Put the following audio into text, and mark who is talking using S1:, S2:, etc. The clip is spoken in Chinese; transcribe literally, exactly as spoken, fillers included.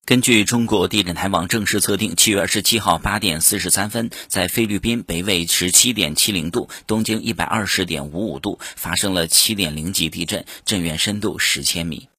S1: 根据中国地震台网正式测定，七月二十七号八点四十三分，在菲律宾北纬十七点七零度、东经一百二十点五五度发生了七点零级地震，震源深度十千米。